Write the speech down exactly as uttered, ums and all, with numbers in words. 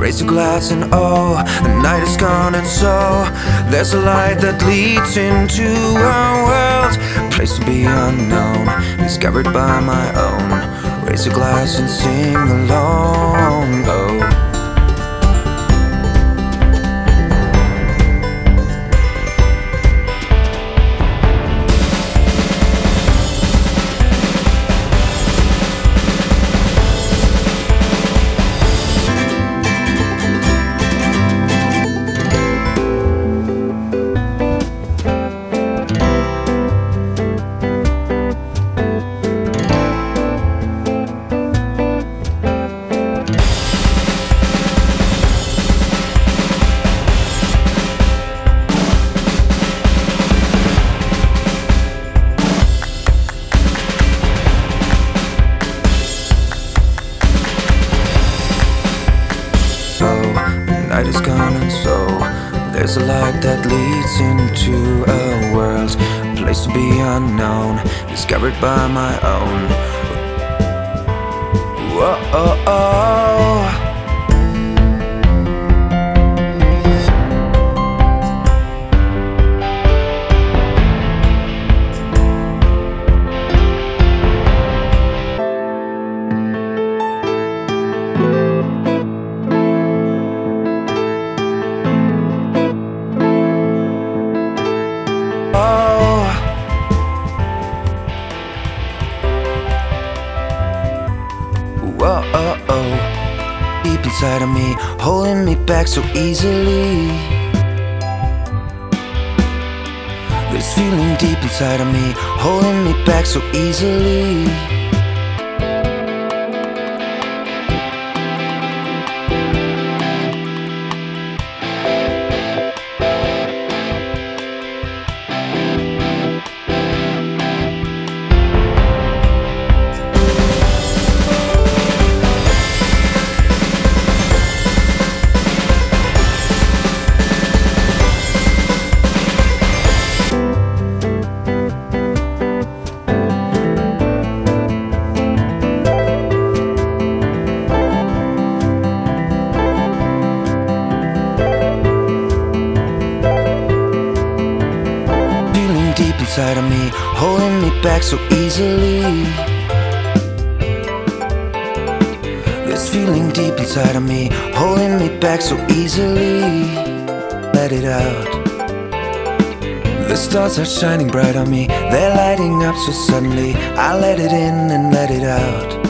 Raise a glass and oh, the night is gone and so there's a light that leads into a world, a place to be unknown, discovered by my own. Raise a glass and sing along, oh. The night is gone and so there's a light that leads into a world, a place to be unknown, discovered by my own. Whoa, oh, oh. Whoa, oh, oh. Deep inside of me, holding me back so easily. This feeling deep inside of me, holding me back so easily. Deep inside of me, holding me back so easily. This feeling deep inside of me, holding me back so easily. Let it out. The stars are shining bright on me, they're lighting up so suddenly. I let it in and let it out.